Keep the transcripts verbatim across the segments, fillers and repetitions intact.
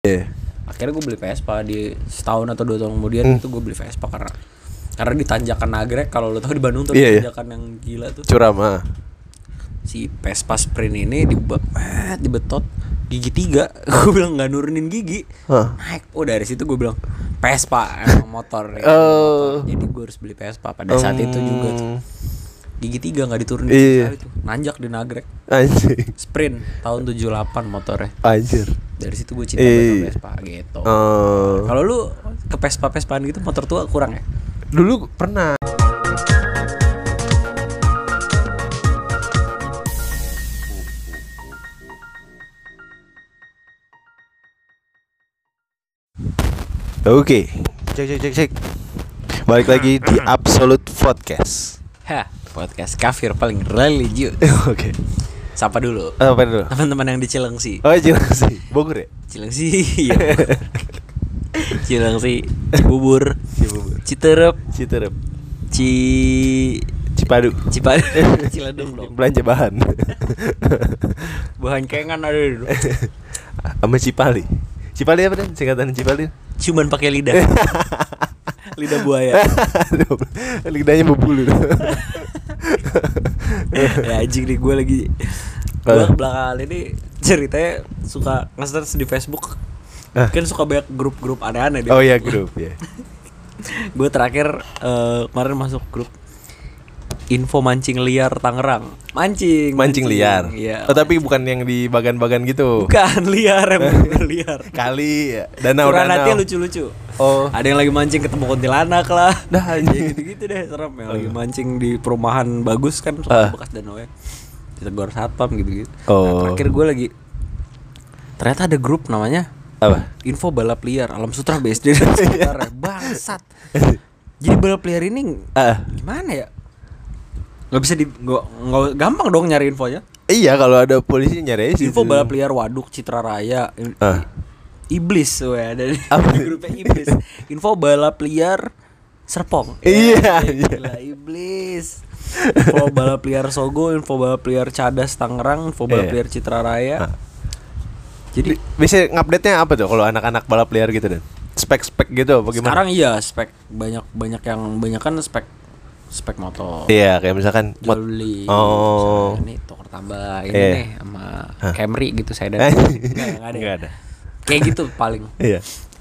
Yeah. Akhirnya gue beli Vespa di setahun atau dua tahun kemudian hmm. itu gue beli Vespa karena karena di tanjakan Nagrek, kalau lo tahu di Bandung tuh yeah, tanjakan yeah. yang gila tuh. Curam ah. Si Vespa Sprint ini di eh, dibetot gigi tiga. Gue bilang nggak nurunin gigi, huh? Naik. Oh dari situ gue bilang Vespa emang motor. Ya, uh. motor. Jadi gue harus beli Vespa pada saat um. itu juga tuh. Gigi tiga nggak diturunin iya. itu. Nanjak di Nagrek. Anjir. Sprint tahun tujuh puluh delapan motornya. Anjir. Dari situ gue cinta sama Vespa gitu. Uh. Kalau lu ke Vespa-Vespaan gitu motor tua kurang ya? Dulu pernah. Oke, cek cek cek cek. Balik lagi di Absolute Podcast. Hah, podcast kafir paling religius. Oke. Sapa dulu. Apa dulu? Teman-teman yang di Cilengsi. Oh, Cilengsi. Bogor ya? Cilengsi. Iya. Cilengsi, Cibubur, Cibubur, Citerep, Citerep, Ci Cipadu, Cipadu, Ciledug dong. Belanja bahan. Bahan kengan ada dulu. Sama Cipali. Cipali apa dan singkatan Cipali? Cuman pakai lidah. Lidah buaya. Lidahnya berbulu. Ya anjing nih, gue lagi gue belakangan ini ceritanya suka nge-search di Facebook. Ah. Kan suka banyak grup-grup aneh-aneh. Oh iya grup ya. Gue terakhir uh, kemarin masuk grup info mancing liar Tangerang. Mancing, mancing, mancing liar. Iya. Oh, tapi bukan yang di bagan-bagan gitu. Bukan liar, emang liar. Kali ya. Danau-danau. Lucu-lucu. Oh. Ada yang lagi mancing ketemu kuntilanak lah. Dah anjing. Gitu-gitu deh, serem. Yang uh. lagi mancing di perumahan bagus kan, soal uh. bekas danau ya. Ditegur satpam gitu-gitu. Oh. Nah, terakhir gue lagi ternyata ada grup namanya apa? Info balap liar Alam Sutra B S D dan sekitarnya. Bangsat. Jadi balap liar ini uh. gimana ya? Gak bisa di gak, gak gampang dong nyari infonya. Iya, kalau ada polisi nyari sih. Info balap liar Waduk Citra Raya. Uh. Iblis we ada di grupnya Iblis. Info balap liar Serpong. Iya, ya, gila, Iblis. Info balap liar Sogo, info balap liar Cadas Tangerang, info balap liar Citra Raya. Uh. Jadi bisa ngupdate-nya apa tuh kalau anak-anak balap liar gitu dan spek-spek gitu apa gimana? Sekarang iya spek banyak banyak yang banyak kan spek spek motor. Iya kayak misalkan jual beli. Oh. Ini tukar tambah ini iya. nih sama huh? Camry gitu saya dan enggak ada. Enggak ada. Kayak gitu paling. Iya.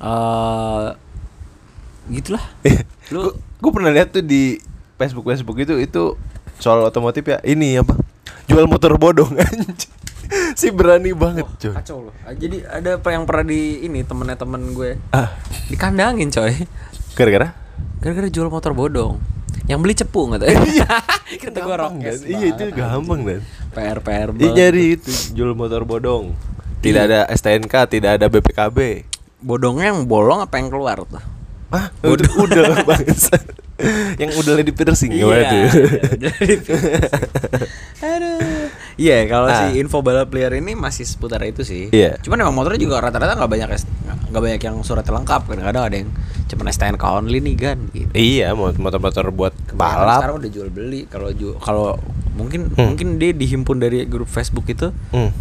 Uh, gitulah. Lu gue pernah lihat tuh di Facebook Facebook itu itu soal otomotif ya. Ini apa? Jual motor bodong anjing. Si berani banget, oh, coy. Kacau loh. Jadi ada yang pernah di ini temennya temen gue. Ah. Dikandangin, coy. Gara-gara? Gara-gara jual motor bodong. Yang beli cepu enggak tahu. Kata gue rokes. Iya itu gampang dan. P R P R banget. Nyari itu jual motor bodong. Tidak ada S T N K, tidak ada B P K B. Bodongnya yang bolong apa yang keluar tuh? Hah? Udah udah bangsa. Yang udahnya di piercing iya, gimana tuh? Iya, udah di piercing. Aduh. Iya, yeah, kalau ah. si info balap liar ini masih seputar itu sih. Iya. Yeah. Cuman memang motornya juga rata-rata enggak banyak enggak banyak yang suratnya lengkap. Kadang-kadang ada yang cuma S T N K only nih kan gitu. Iya, motor-motor buat balap. Sekarang udah jual beli. Kalau kalau mungkin hmm. mungkin dia dihimpun dari grup Facebook itu. Hmm.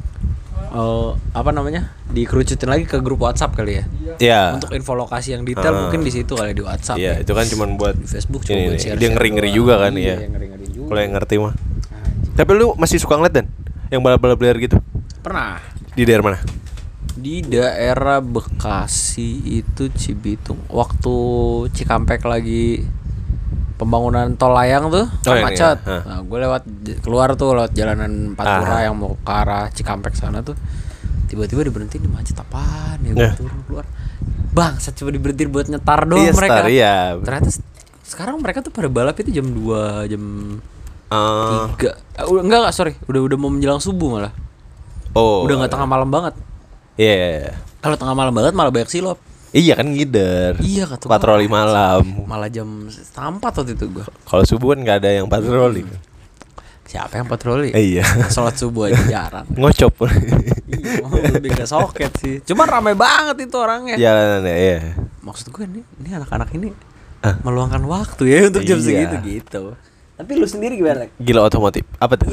Uh, apa namanya dikerucutin lagi ke grup WhatsApp kali ya? Iya. Untuk info lokasi yang detail uh, mungkin di situ kali di WhatsApp. Iya, ya. Itu kan cuma buat di Facebook cuma ini, buat share. Dia ngeri-ngeri juga kan iya, ya. Kalau yang ngerti mah. Tapi lu masih suka ngeliat dan yang balap-balap liar gitu? Pernah. Di daerah mana? Di daerah Bekasi itu Cibitung. Waktu Cikampek lagi pembangunan tol layang tuh oh, macet. Iya. Nah, gue lewat keluar tuh lewat jalanan Pantura yang mau ke arah Cikampek sana tuh. Tiba-tiba diberhentiin di macet apaan ya, gue turun keluar. Bang, saya coba diberhentiin buat nyetar doang iya, mereka. Star, iya. Ternyata sekarang mereka tuh pada balap itu jam dua, jam uh. tiga. Uh, enggak enggak, sorry. Udah udah mau menjelang subuh malah. Oh. Udah enggak tengah malam banget. Iya. Yeah. Kalau tengah malam banget malah banyak silop. Iya kan ngider. Iya kata patroli gua, malam. Malah jam setengah empat waktu itu gua. Kalau subuh kan enggak ada yang patroli. Hmm. Siapa yang patroli? Eh, iya. Sholat subuh aja jarang. Ngocop. Iya, lebih ke soket sih. Cuman ramai banget itu orangnya. Jalanannya, iya. Maksud gue ini, ini anak-anak ini uh. meluangkan waktu ya untuk jam iya. segitu gitu. Tapi lu sendiri gimana? Gila otomotif. Apa tuh? Iya.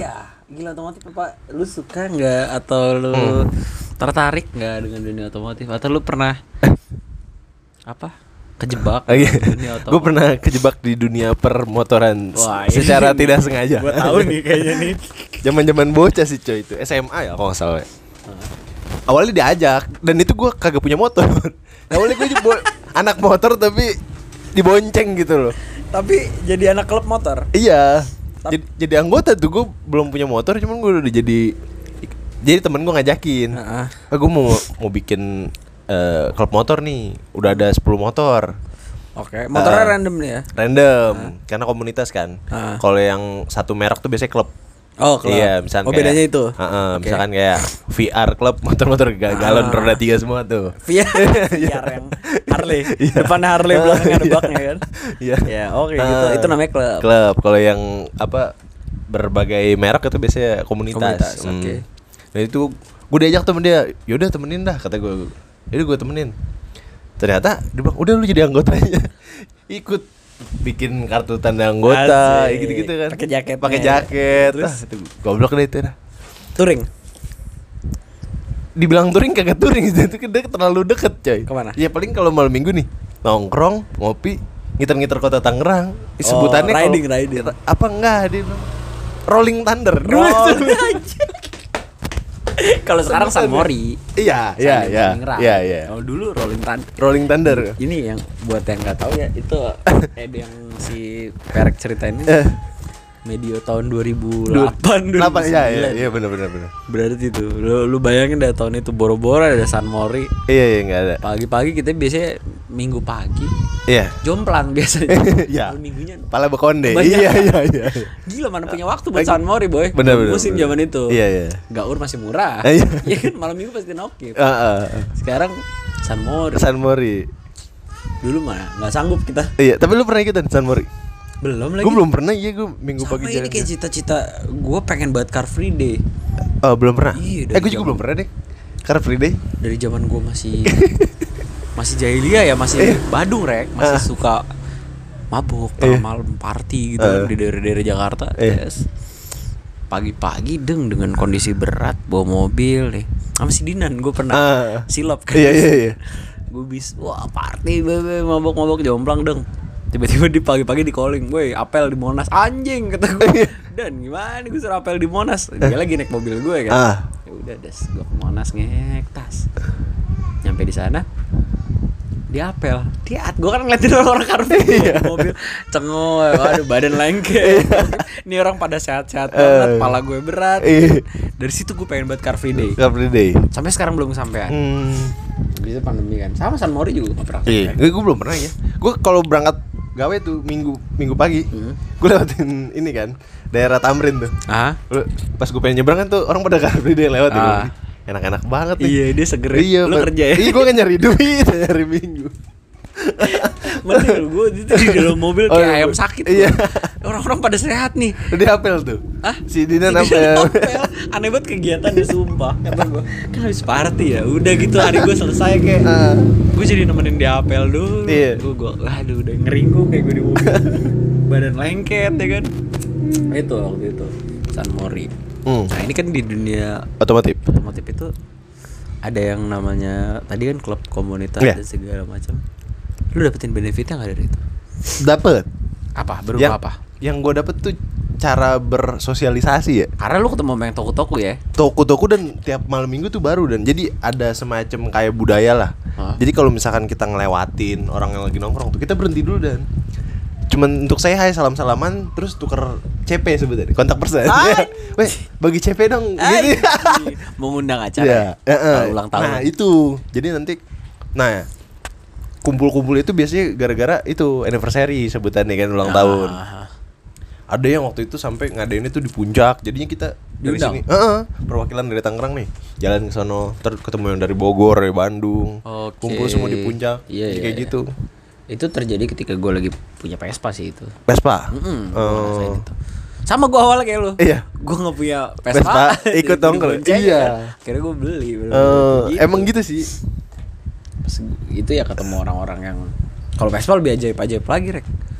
Gila otomotif apa? Lu suka nggak atau lu Hmm. tertarik nggak dengan dunia otomotif atau lu pernah apa? Kejebak Oh, iya. dengan dunia otomotif? Gue pernah kejebak di dunia permotoran s- Wah, ini secara nih. tidak sengaja. Gua tahu nih kayaknya nih. Zaman-zaman bocah sih coy itu S M A ya kalau nggak salah. ya. Awalnya diajak dan itu gue kagak punya motor. Awalnya gue juga anak motor tapi dibonceng gitu loh. Tapi jadi anak klub motor. Iya. Tap- Jadi, jadi anggota tuh gue belum punya motor cuman gue udah jadi jadi temen gue ngajakin. Heeh. Ah, gue mau mau bikin eh, klub motor nih. Udah ada sepuluh motor. Oke, motornya Ah. random nih ya. Random karena komunitas kan. Ah. Kalau yang satu merek tuh biasanya klub. Oh, klub. Iya, misalkan Oh, bedanya itu. Heeh, Oke. misalkan kayak V R klub motor-motor ga- galon Ah. roda tiga semua tuh. V R, V R yang Harley. Iya. Depannya Harley, belakangnya ada Iya. baknya kan. Iya. Ya, oke gitu. Ah. Itu namanya klub. Klub. Kalau yang apa berbagai merek itu biasanya komunitas. Komunitas, Hmm. oke. Nah itu gue diajak temen dia, yaudah temenin dah kata gue. Yaudah gue temenin. Ternyata dia bilang udah lu jadi anggotanya. Ikut bikin kartu tanda anggota, Asik. gitu-gitu kan. Pakai jaketnya. Pakai jaket. Terus? Ah, itu goblok deh itu dah. Touring. Dibilang touring kagak touring itu kan deket, terlalu deket coy. Kemana? Ya paling kalau malam minggu nih nongkrong ngopi ngiter-ngiter kota Tangerang. Sebutannya Oh, kalau- riding, riding. apa enggak dia bilang Rolling Thunder. Dulu Oh, itu. Kalau sekarang San Mori. Iya, iya, iya. Iya, iya. Oh, dulu Rolling Thunder. Rolling Thunder. Ini yang buat yang nggak tahu ya, itu ada yang si Perek ceritain ini Eh, medio tahun dua ribu delapan Delapan, iya, iya, dua ribu sembilan. iya benar benar benar. Berarti itu. Lu, lu bayangin dah tahun itu boro-boro ada San Mori. Iya, iya enggak ada. Pagi-pagi kita biasanya minggu pagi Iya. jomplang biasanya. Iya. Kalau minggunya Pala bekonde. Banyak. Iya, iya, iya. gila mana punya waktu buat San Mori boy. Benar, benar, Musim benar. zaman itu. Iya, iya. Gaur masih murah. Iya. Iya kan malam minggu pasti nokip. Heeh. Sekarang San Mori. San Mori. Dulu mah nggak sanggup kita. Iya, tapi lu pernah ikutan San Mori? Belum lagi. Gue belum pernah, iya gue minggu Sama pagi ini jalan. kayak cita-cita gue pengen buat Car Free Day. Oh, belum pernah. Iya, eh, dari gue juga zaman- belum pernah deh. Car Free Day. Dari zaman gue masih masih jahiliyah ya, masih Badung rek, masih Ah. suka mabuk Iya. malam party gitu Ah. kan di daerah-daerah Jakarta. Iya. Yes. Pagi-pagi deng dengan kondisi berat bawa mobil nih. Sama si Dinan gue pernah Ah. silap kan. Iya, iya, iya. Gue bis wah party bebe mabok-mabok jomplang deng. Tiba-tiba di pagi-pagi di calling, "Woi, apel di Monas." Anjing kata gue. Dan gimana gue suruh apel di Monas? Dia lagi naik mobil gue kan. Ah. Ya udah des, gue ke Monas ngek tas. Nyampe di sana dia apel. Dia gue kan ngeliatin orang-orang karpet mobil cengoy, waduh badan lengket. Ini orang pada sehat-sehat banget, kepala gue berat. Iya. Dari situ gue pengen buat Car Free Day. Car Free Day. Sampai sekarang belum kesampaian. Hmm. Bisa pandemi kan. Sama San Mori juga gak pernah. Iya, kesampaian. gue belum pernah ya. Gue kalau berangkat gawe tuh minggu minggu pagi, Hmm. gue lewatin ini kan daerah Tamrin tuh. Ah? Lu- Pas gue pengen nyebrang kan tuh orang pada Car Free Day lewat ya. Ah. gua, enak-enak banget nih. Iya, dia seger. Iya, Lu Pak. kerja ya? Iya, gue kan nyari duit, nyari minggu. Mending gue itu di dalam mobil Oh, kayak iya. ayam sakit. Iya. gua. Orang-orang pada sehat nih. Dia apel tuh. Hah? Si Dinan Si Dinan apel. apel. Aneh banget kegiatannya sumpah. Kata gue, kan habis party ya. Udah gitu hari gue selesai kayak. Ah. Gue jadi nemenin dia apel dulu. Iya. Gue gue aduh udah ngeringkuk kayak gue di mobil. Badan lengket ya kan. Itu waktu itu San Mori. Hmm. Nah, ini kan di dunia Otomotif. otomotif itu ada yang namanya tadi kan klub komunitas Iya. dan segala macam. Lu dapetin benefitnya nggak dari itu? Dapet. Apa? Berupa Yang, apa? yang gue dapet tuh cara bersosialisasi ya. Karena lu ketemu sama yang toko-toko ya. Toko-toko dan tiap malam minggu tuh baru dan jadi ada semacam kayak budaya lah. Hah? Jadi kalau misalkan kita ngelewatin orang yang lagi nongkrong tuh kita berhenti dulu dan cuman untuk saya hai salam-salaman terus tuker C P sebetulnya kontak person. Ay. Weh, bagi C P dong Ay, gitu. mengundang acara. Iya, ya? heeh. Kalau ulang tahun. Nah, itu. Jadi nanti nah kumpul-kumpul itu biasanya gara-gara itu anniversary sebutannya kan ulang Ah. tahun. Ada yang waktu itu sampai ngadainnya tuh di puncak. Jadinya kita dari Diundang? sini, heeh, perwakilan dari Tangerang nih, jalan ke sono, terus ketemu yang dari Bogor, dari Bandung. Oke. Kumpul semua di puncak. Iya, Jadi iya, kayak iya. gitu. Itu terjadi ketika gue lagi punya Vespa sih itu. Vespa. Mm-mm, gua Oh. ngerasain itu. Sama gue awalnya kayak lu. Iya. Gue nggak punya Vespa, Vespa. ikut jadi nongkrong. dibonceng, Iya. kan. Akhirnya gue beli. beli, Eh, beli. emang gitu sih. Pas itu ya ketemu orang-orang yang kalau Vespa lebih ajaib-ajaib lagi rek.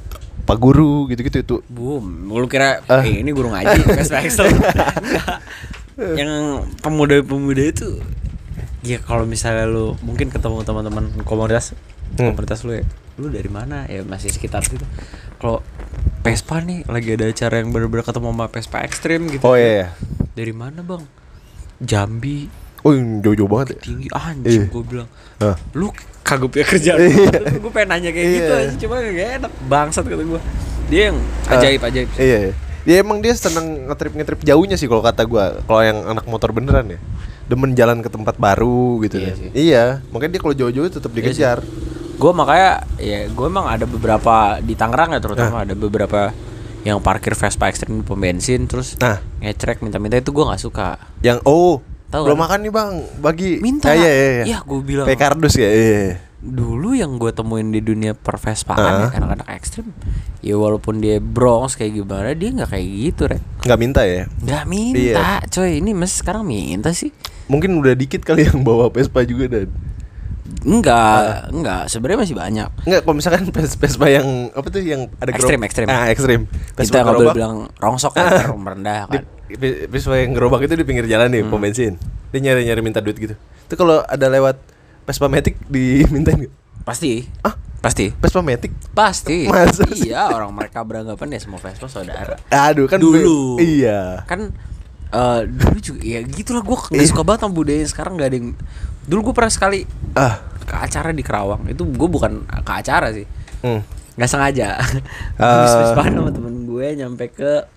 Pak Guru gitu-gitu itu. Boom, lu kira Ah. eh, ini guru ngaji, Vespa Extreme. Enggak. Yang pemuda-pemuda itu ya kalau misalnya lu mungkin ketemu teman-teman komunitas Hmm. komunitas lu ya, lu dari mana ya masih sekitar situ. Kalau Vespa nih lagi ada acara yang bener-bener ketemu sama Vespa Extreme gitu. Oh iya, iya. Dari mana bang? Jambi. Oh yang jauh-jauh banget ya. Tinggi anjing Iya. gue bilang. Ah. Lu kagak punya kerjaan. Iya. Gue pengen nanya kayak gitu Iya. aja, cuma gak enak. Bangsat kata gue. Dia yang ajaib-ajaib sih. Iya, iya. Dia emang dia seneng ngetrip-ngetrip jauhnya sih kalau kata gua. Kalau yang anak motor beneran ya, demen jalan ke tempat baru gitu Iya kan. sih. Iya, makanya dia kalau jauh-jauh tetap Iya dikejar. Gue makanya ya gue emang ada beberapa di Tangerang ya terutama ada beberapa yang parkir Vespa Extreme di pom bensin terus Nah. ngecrek minta-minta itu gue nggak suka. Yang oh, Tahu belum kan? makan nih bang, bagi. Minta. Ah, iya, iya, iya. Iya, gua bilang. Kayak kardus ya. Iya. Dulu yang gue temuin di dunia pervespaan Ah. ya anak-anak ekstrim ya walaupun dia bronx kayak gimana dia nggak kayak gitu Rek. Nggak minta ya? Nggak minta coy, ini mas sekarang minta sih. Mungkin udah dikit kali yang bawa Vespa juga dan. Enggak, enggak, sebenarnya masih banyak. Enggak, kalau misalkan Ves- Vespa yang apa tuh yang ada Ekstrim, gerobak- ekstrim. Ah, ekstrim. Kita nggak boleh bilang rongsok kan, Ah. merendah Di, kan. Ve- Vespa yang gerobak itu di pinggir jalan nih, Hmm. pom bensin. Dia nyari-nyari minta duit gitu. Itu kalau ada lewat Vespa Matic dimintain nggak? Pasti, Ah, pasti, Vespa Matic? pasti. Masa sih? Iya, orang mereka beranggapan ya semua Vespa saudara. Aduh kan Dulu. be- iya. Kan eh, dulu juga ya gitulah gue nggak Iya. suka banget sama budaya sekarang nggak ada yang. Dulu gue pernah sekali Ah. ke acara di Kerawang itu gue bukan ke acara sih Hmm. nggak sengaja Ah. habis Vespa sama temen gue nyampe ke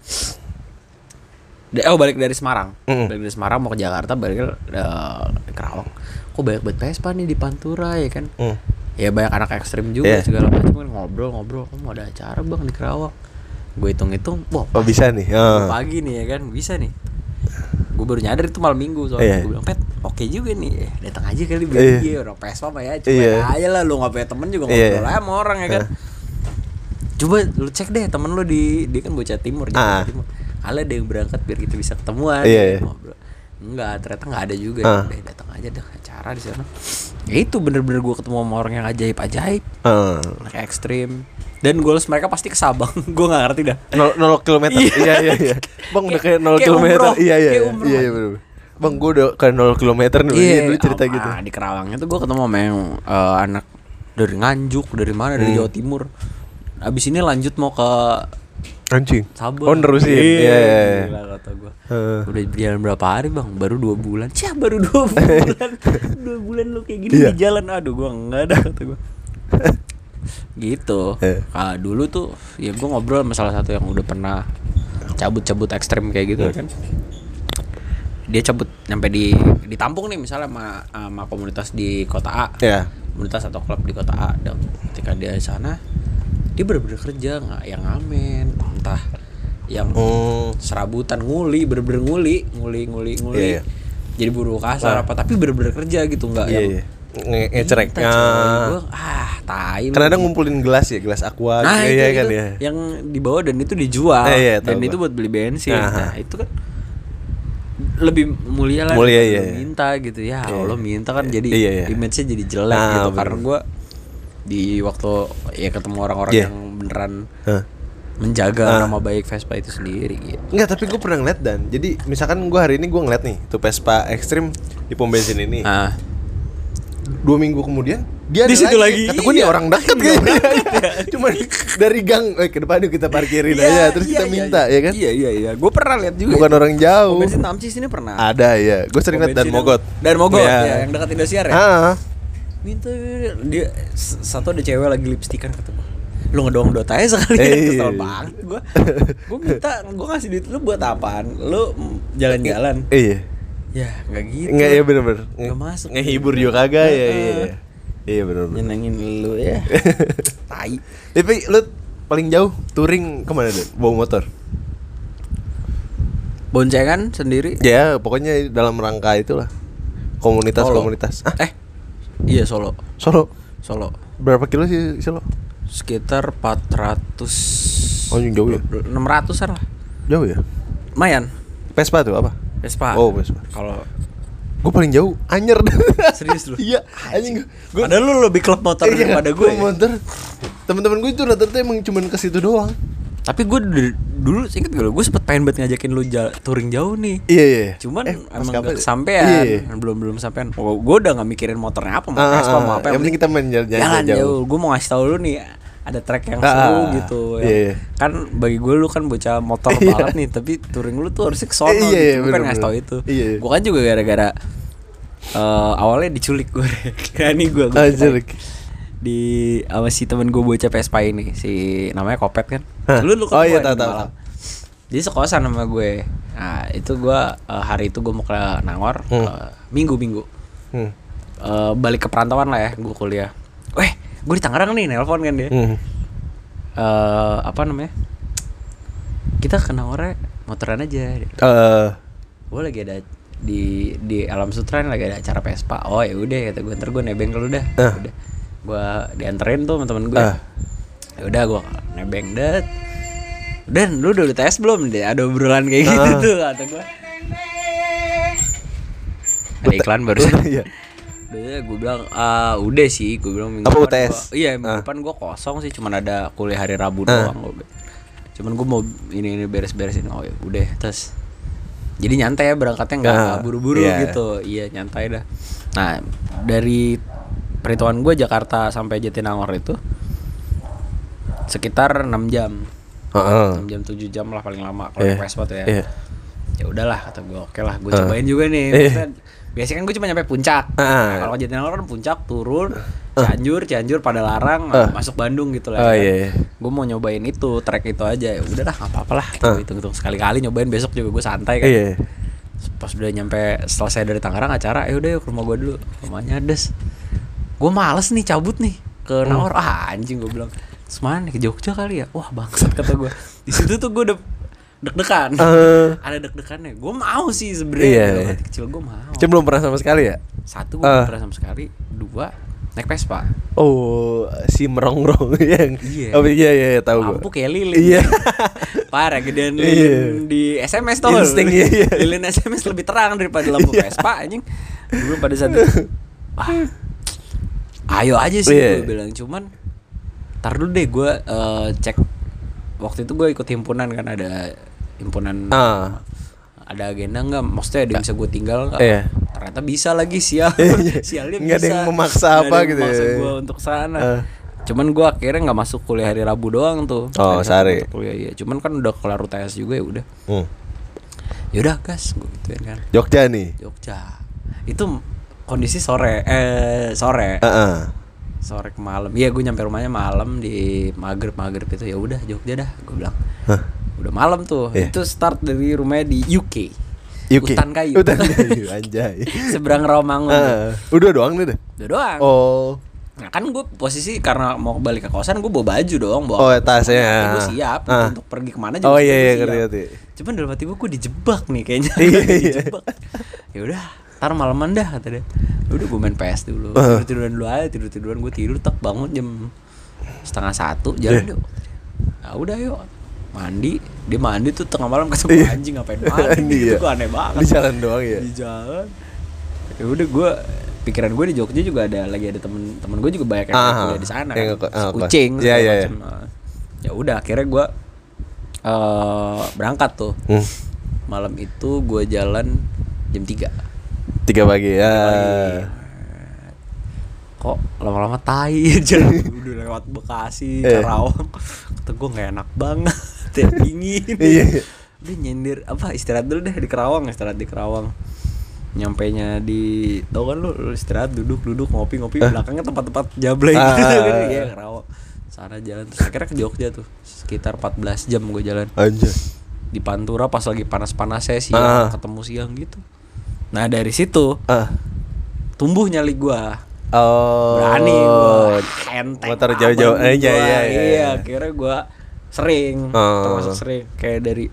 De- oh balik dari Semarang Mm. balik dari Semarang mau ke Jakarta balik ke uh, Kerawang kok banyak banget Vespa nih di Pantura ya kan Hmm. ya banyak anak ekstrim juga Iya. segala macam kan ngobrol-ngobrol oh, mau ada acara bang di Kerawang gue hitung-hitung wah Oh bisa nih. Ah. pagi nih ya kan bisa nih gue baru nyadar itu malam minggu soalnya Iya. gue bilang pet oke juga nih eh, datang aja kali biar Iya. dia orang Vespa mah ya coba Iya. aja lah lu nggak punya temen juga Iya. ngobrol aja sama orang ya kan coba lu cek deh temen lu di dia kan bocah timur Jakarta Ah. Timur ala ada yang berangkat biar kita bisa ketemuan Iya, ya, iya. ngobrol enggak ternyata nggak ada juga Ah. deh datang aja deh acara di sana ya itu bener-bener gue ketemu sama orang yang ajaib-ajaib Ah. anak ekstrim dan goals mereka pasti ke Sabang gue nggak ngerti dah Nol, nol kilometer. Iya. Iya iya iya. Bang udah Kayak- kayak nol kayak kilometer. umroh. Iya iya. Kayak Iya umroh. iya bener. Bang gue udah kayak nol kilometer nih. Iya dulu cerita ah, gitu. ah, di Kerawangnya tuh gue ketemu sama yang eh, anak dari Nganjuk dari mana dari Hmm. Jawa Timur. Abis ini lanjut mau ke Anjing. Sabang. Oh nerusin. Iya iya. iya. Gila kata gue. Heeh. Udah berjalan berapa hari bang? Baru dua bulan. Cih baru dua bulan. Dua bulan lu kayak gini Iya. di jalan. Aduh gue enggak ada kata gue. Gitu. Eh. Ah, dulu tuh ya gue ngobrol sama salah satu yang udah pernah cabut-cabut ekstrem kayak gitu kan. Dia cabut nyampe di ditampung nih misalnya sama, sama komunitas di kota A. Iya. Komunitas atau klub di kota A. Dan ketika dia di sana dia bener-bener kerja nggak yang ngamen entah yang Hmm. serabutan nguli bener-bener nguli nguli nguli nguli Iya, iya. jadi buruh kasar Ah. apa tapi bener-bener kerja gitu nggak Iya yang iya. Nge- Ngecerek. Kita, coy. Ah. Gua, ah tai lu. Kan ada ngumpulin gelas ya, gelas aqua nah gitu, itu, iya itu kan ya. yang dibawa dan itu dijual Eh, iya, dan tahu itu gua. buat beli bensin Aha. nah itu kan lebih mulia lah Mulia, daripada iya, lu iya. minta gitu ya Iya. Allah minta kan jadi Iya, iya. image-nya jadi jelek Ah, gitu bener. karena gue di waktu ya ketemu orang-orang Iya. yang beneran Hah. menjaga Ah. nama baik Vespa itu sendiri gitu. Enggak, tapi gue pernah ngeliat dan jadi misalkan gue hari ini gue ngeliat nih tuh Vespa ekstrim di pom bensin ini. Ah. Dua minggu kemudian dia Di ada situ lagi. Kata gue nih Iya. orang dekat kayaknya. Cuma dari gang, eh ke depan yuk kita parkirin aja terus kita minta ya kan. Iya iya iya. Gue pernah lihat juga. Bukan orang jauh. Pom bensin Tamcis ini pernah. Ada ya. Gue sering liat dan Pom bensin Mogot. yang- Dan Mogot Iya. ya, yang dekat Indosiar ya. Ah. Minta dia s- satu ada cewek lagi lipstikan kata gue. Lu ngedong dot aja sekali ya, Eh, kesel iya. banget gue. Gue minta, gue ngasih duit lu buat apaan? Lu mm, jalan-jalan. Iya. Ya, enggak gitu. Enggak ya bener-bener. Nggak masuk. Ngehibur juga kagak ya. Iya. Iya bener-bener. Nyenengin lu ya. Tai. Tapi lu paling jauh touring kemana Dan? Bawa motor? Boncengan sendiri. Ya pokoknya dalam rangka itulah. Komunitas-komunitas. Ah, Eh. Iya Solo. Solo. Solo. Berapa kilo sih Solo? Sekitar empat ratus. Oh jauh ya? enam ratusan lah. Jauh ya? Lumayan. Vespa tuh apa? Vespa. Oh Vespa. Kalau Gue paling jauh Anyer. Serius lu? Iya, anjing gue. Padahal lu lebih klub motor Iya, daripada gue. gua motor. Temen-temen gue itu rata-rata emang cuman ke situ doang. Tapi gue dulu, dulu inget gak lo, gue sempet pengen banget ngajakin lu jala, touring jauh nih. Iya iya. Cuman Eh, emang maskapai. gak kesampean. Iya, iya. Belum belum sampean. Oh, gue udah gak mikirin motornya apa, mau Ah, Vespa ah, mau ah. apa. Yang penting kita main jalan-jalan jalan jauh. jauh. Gue mau ngasih tau lu nih, ada track yang Ah, seru ah, gitu. iya, Yang, iya. kan bagi gue lu kan bocah motor Iya. banget nih, tapi touring lu tuh harusnya kesono Eh, iya, gitu. iya, Gue pengen bener, ngasih tau bener. itu. Iya, iya. Gue kan juga gara-gara eh, awalnya diculik gue. Kayak nih gue. Ah, culik. Di sama si temen gue bocah Vespa ini, si namanya Kopet kan. Hah? Lu lu Oh, iya, ketemu tahu, di tahu, Malang. Jadi sekosan sama gue. Nah itu gue uh, hari itu gue mau ke Nangor Hmm. uh, minggu minggu Hmm. uh, balik ke perantauan lah ya gue kuliah. Weh gue di Tangerang nih, nelpon kan dia. Hmm. Uh, apa namanya? Kita ke Nangor motoran aja. Eh, Gue lagi ada di di Alam Sutra nih, lagi ada acara Vespa. Oh ya udah kata gue, ntar gue nebeng ke lu dah. Ah. Udah. Gue dianterin tuh sama temen gue. Ah. Ya udah gue nebeng dat. Dan lu udah tes belum deh? Ada obrolan kayak gitu Ah. tuh kata gue. Ada iklan barusan. Iya. Udah gue bilang ah udah sih, gue bilang minggu Apa depan U T S? gua- iya minggu Ah. depan gue kosong sih, cuman ada kuliah hari Rabu Ah. doang gue. Cuman gue mau ini ini beres-beresin. Oh ya udah terus. Jadi nyantai ya berangkatnya, nggak Ah, nggak buru-buru iya. gitu. Iya nyantai dah. Nah dari perhitungan gue Jakarta sampai Jatinangor itu sekitar enam jam. Heeh. enam jam tujuh jam lah paling lama kalau Iya. naik Vespa tuh ya. Iya. Ya udahlah kata gue, oke lah gue Ah. cobain juga nih. Iya. Maksudnya, biasanya kan gue cuma nyampe puncak. Ah. Nah, kalau ke Jatinangor kan puncak turun, Cianjur, Cianjur pada larang, Ah. masuk Bandung gitu lah. Oh, kan. iya, iya. Gue mau nyobain itu, trek itu aja. Ya udahlah, nggak apa-apa lah. Ah. Gitu hitung-hitung sekali-kali nyobain, besok juga gue santai kan. Iya. Pas udah nyampe selesai dari Tangerang acara, ya udah yuk ke rumah gue dulu. Rumahnya des. Gue males nih cabut nih ke Nangor. Ah anjing gue bilang. Terus mana nih, ke Jogja kali ya? Wah bangsat kata gue. Di situ tuh gue udah deg-degan. Eh. Ada deg-degannya. Gue mau sih sebenarnya. Iya, Dalam iya. hati kecil gue mau. Cuma belum pernah sama sekali ya? Satu gue Ah. belum pernah sama sekali. Dua naik Vespa. Oh, si merongrong yang. Iya. Oh, iya iya, iya tahu Lampu gua. kayak lilin. Iya. Parah gedean Iya. lilin di S M S tuh. Insting, iya, iya. Lilin S M S lebih terang daripada lampu Iya. Vespa anjing. Dulu pada saat itu. Wah. Ayo aja sih Iya. gue bilang, cuman tar dulu deh gue eh, cek. Waktu itu gue ikut himpunan kan, ada himpunan Ah. ada agenda nggak, maksudnya ada yang bisa gue tinggal nggak? Iya. Ternyata bisa lagi, sial. Iya. Sialnya Nggak ada bisa. yang memaksa Nggak apa ada yang gitu ya. memaksa gue untuk sana. Ah. Cuman gue akhirnya nggak masuk kuliah hari Rabu doang tuh. Oh, Hari Sabtu sehari. untuk kuliah, iya. Cuman kan udah kelar U T S juga, ya udah. Hmm. Yaudah gas, gue gituin kan. Jogja nih. Jogja. Itu kondisi sore, eh sore, Heeh. sore ke malam. Iya, gue nyampe rumahnya malam di maghrib maghrib itu. Ya udah Jogja dah, gue bilang. Hah. Udah malam tuh. Iya. Itu start dari rumahnya di U K. U K. Hutan kayu. Hutan kayu anjay. Seberang Rawamangun. tuh. Ah, udah doang nih deh. Udah doang. Oh. Nah kan gue posisi karena mau balik ke kosan, gue bawa baju dong, bawa. Oh, tasnya. Gue siap Ah. untuk pergi kemana juga. Oh iya iya gue ngerti siap. ngerti. Cuman dalam hati gue, gue dijebak nih kayaknya. Iya, iya. Dijebak. Ya udah, ntar malaman dah kata dia. Ya udah gue main P S dulu. Uh. Tidur tiduran dulu aja, tidur tiduran gue tidur, tak bangun jam setengah satu, jalan Yeah. yuk. Nah udah yuk. Mandi, dia mandi tuh tengah malam ketemu Iya. anjing ngapain mandi Iya. gitu, gue aneh banget. Di jalan doang ya. Di jalan. Ya udah gue, pikiran gue di Jogja juga ada lagi ada temen-temen gue juga banyak yang Ah, kuliah di sana yang kan. ke- ah, Kucing Iya, segala iya, iya. macem. Nah, ya udah akhirnya gue eh berangkat tuh. Hmm. Malam itu gue jalan jam tiga Tiga pagi ya. pagi. Kok lama-lama tai jalan udah lewat Bekasi, Eh. Karawang. Kata gue nggak enak banget, ya, dingin. Iya. Udah nyindir apa istirahat dulu deh di Kerawang, istirahat di Kerawang. Nyampainya di, tau kan lu, lu istirahat duduk-duduk ngopi-ngopi, belakangnya tempat-tempat jablay Ah. gitu kan. Iya Kerawang. Sana jalan terus akhirnya ke Jogja tuh. Sekitar empat belas jam gue jalan. Anjay. Di Pantura pas lagi panas-panasnya siang, Ah. ketemu siang gitu. Nah, dari situ Ah. tumbuh nyali gua. Oh. Berani gua. Enteng. Motor banget jauh-jauh. gua. Eh, iya, iya, iya. Iya, akhirnya gua sering, Oh. termasuk sering kayak dari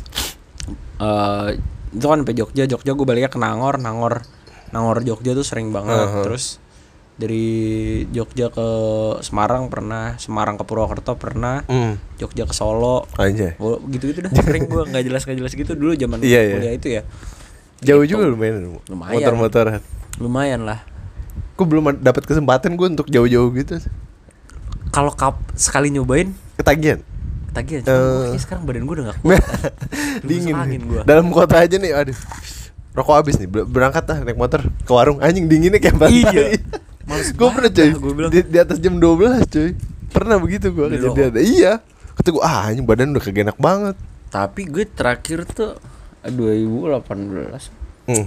eh itu kan sampai Jogja, Jogja gua baliknya ke Nangor, Nangor Nangor Jogja tuh sering banget. Uh-huh. Terus dari Jogja ke Semarang pernah, Semarang ke Purwokerto pernah, Hmm. Jogja ke Solo. Anjay. Oh, gitu-gitu dah sering gua, nggak jelas nggak jelas gitu dulu zaman Iya, iya. kuliah itu ya. Jauh Gitu. juga lumayan. Lumayan. Motor-motoran. Lumayan lah. Gue belum dapat kesempatan gue untuk jauh-jauh gitu. Kalau kap sekali nyobain Ketagihan. ketagihan. Eh. Cuma uh. sekarang badan gue udah gak kuat. Dingin. Angin gua. Dalam kota aja nih, aduh. Rokok habis nih, ber- berangkat lah naik motor ke warung, anjing dinginnya kayak pantai. Iya. Males Gue pernah banget cuy. dah, gua bilang. Di, di atas jam dua belas cuy. Pernah begitu gue Beli kejadian. Iya. Kata gue, ah anjing badan udah kagak enak banget. Tapi gue terakhir tuh dua ribu delapan belas Hmm.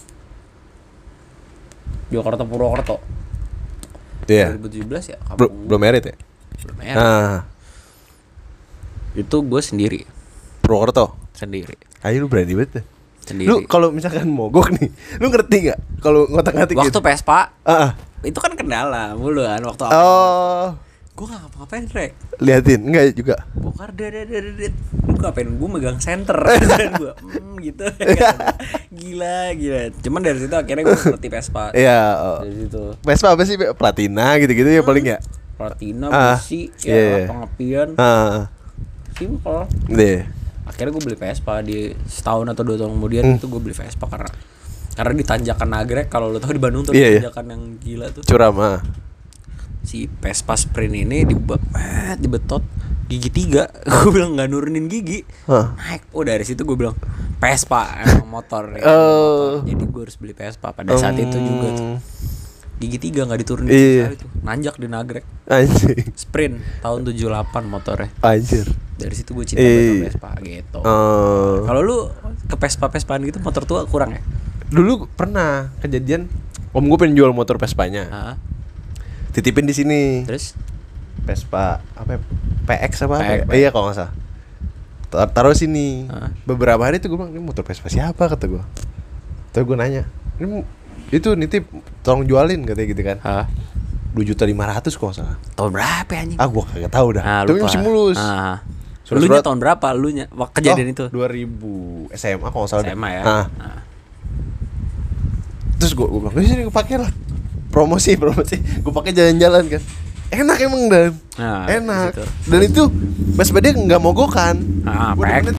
Jakarta Purwokerto. Iya. dua ribu tujuh belas ya. Bel- kampung belum merit ya? belum ya. Ah, Itu gue sendiri, Purwokerto. sendiri, Ayo lu berani banget. ya. sendiri. Lu kalau misalkan mogok nih, lu ngerti nggak? Kalau ngotak-ngatik Waktu gitu. Vespa Ah, ah. itu kan kendala mulu kan waktu awal. Oh, Gue gak ngapa-ngapain Rek. liatin enggak juga. Bongkar dedet. Gue ngapain? Gue megang senter. Dan gue hmm, gitu. Gila gila. Cuman dari situ akhirnya gue ngerti Vespa. Iya. Oh. Dari situ Vespa apa sih? Platina gitu-gitu ya paling ya. Platina, Ah, busi, iya, ya iya. pengepian, Ah, simple. deh. Akhirnya gue beli Vespa di setahun atau dua tahun kemudian. Hmm. Itu gue beli Vespa karena karena di tanjakan Nagrek, kalau lo tahu di Bandung tuh Iya, iya. tanjakan yang gila tuh. Curam ah. Si Vespa Sprint ini di dibetot gigi tiga. Gue bilang nggak nurunin gigi. Hah. Naik. Oh dari situ gue bilang Vespa emang motor, ya, Oh. motor. Jadi gue harus beli Vespa pada saat itu juga tuh. Gigi tiga nggak diturunin Iya. sekali tuh. Nanjak di Nagrek. Anjing. Sprint tahun tujuh puluh delapan motornya. Anjir. Dari situ gue cinta Iya. sama Vespa gitu. Oh. Kalau lu ke Vespa-Vespaan gitu motor tua kurang ya? Dulu pernah kejadian om gue pengen jual motor Vespanya. Heeh. Titipin di sini. Terus Vespa apa ya? P X apa? apa P X, ya? Iya kalau nggak salah. Tar- Taruh sini. Hah? Beberapa hari itu gue bilang ini motor Vespa siapa kata gue. Terus gue nanya, ini itu nitip tolong jualin katanya gitu kan. Hah? Dua juta lima ratus kalau nggak salah. Tahun berapa ya, anjing? Ah gue kagak tahu dah. Ah, Tapi lupa. masih mulus. Ah. Surat- Lu nya surat- tahun berapa? Lu nya waktu kejadian Oh, itu? dua ribu S M A kalau nggak salah. S M A ya. Ah. Ah. Terus gue gue bilang, "Ini sini gue pakai lah." Promosi, promosi. Gue pakai jalan-jalan kan. Enak emang dan. Nah, Enak. gitu. Dan itu Vespa dia nggak mogokan. Ah, Gua P X. demennya